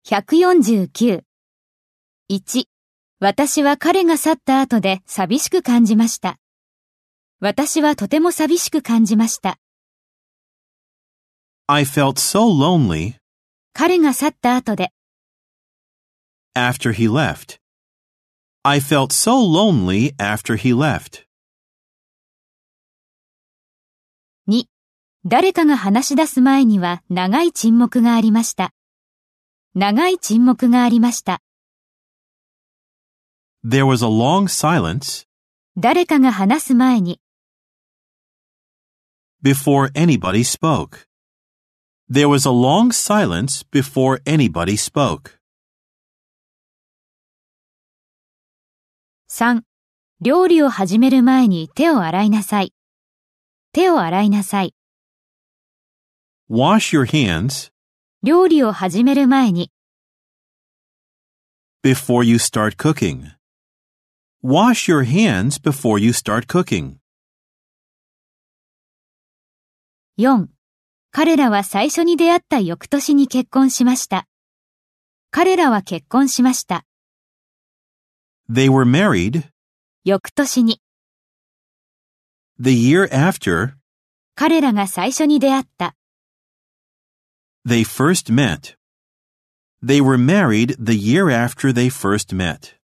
149。1、私は彼が去った後で寂しく感じました。私はとても寂しく感じました。 I felt so lonely 彼が去った後で。 after he left. I felt so lonely after he left. 2、誰かが話し出す前には長い沈黙がありました。長い沈黙がありました。 There was a long silence 誰かが話す前に。 before anybody spoke. There was a long silence before anybody spoke. 3、料理を始める前に手を洗いなさい。手を洗いなさい。 Wash your hands 料理を始める前に。 before you start cooking. Wash your hands before you start cooking. 4、彼らは最初に出会った翌年に結婚しました。彼らは結婚しました。 They were married 翌年に。 the year after 彼らが最初に出会った。 they first met. They were married the year after they first met.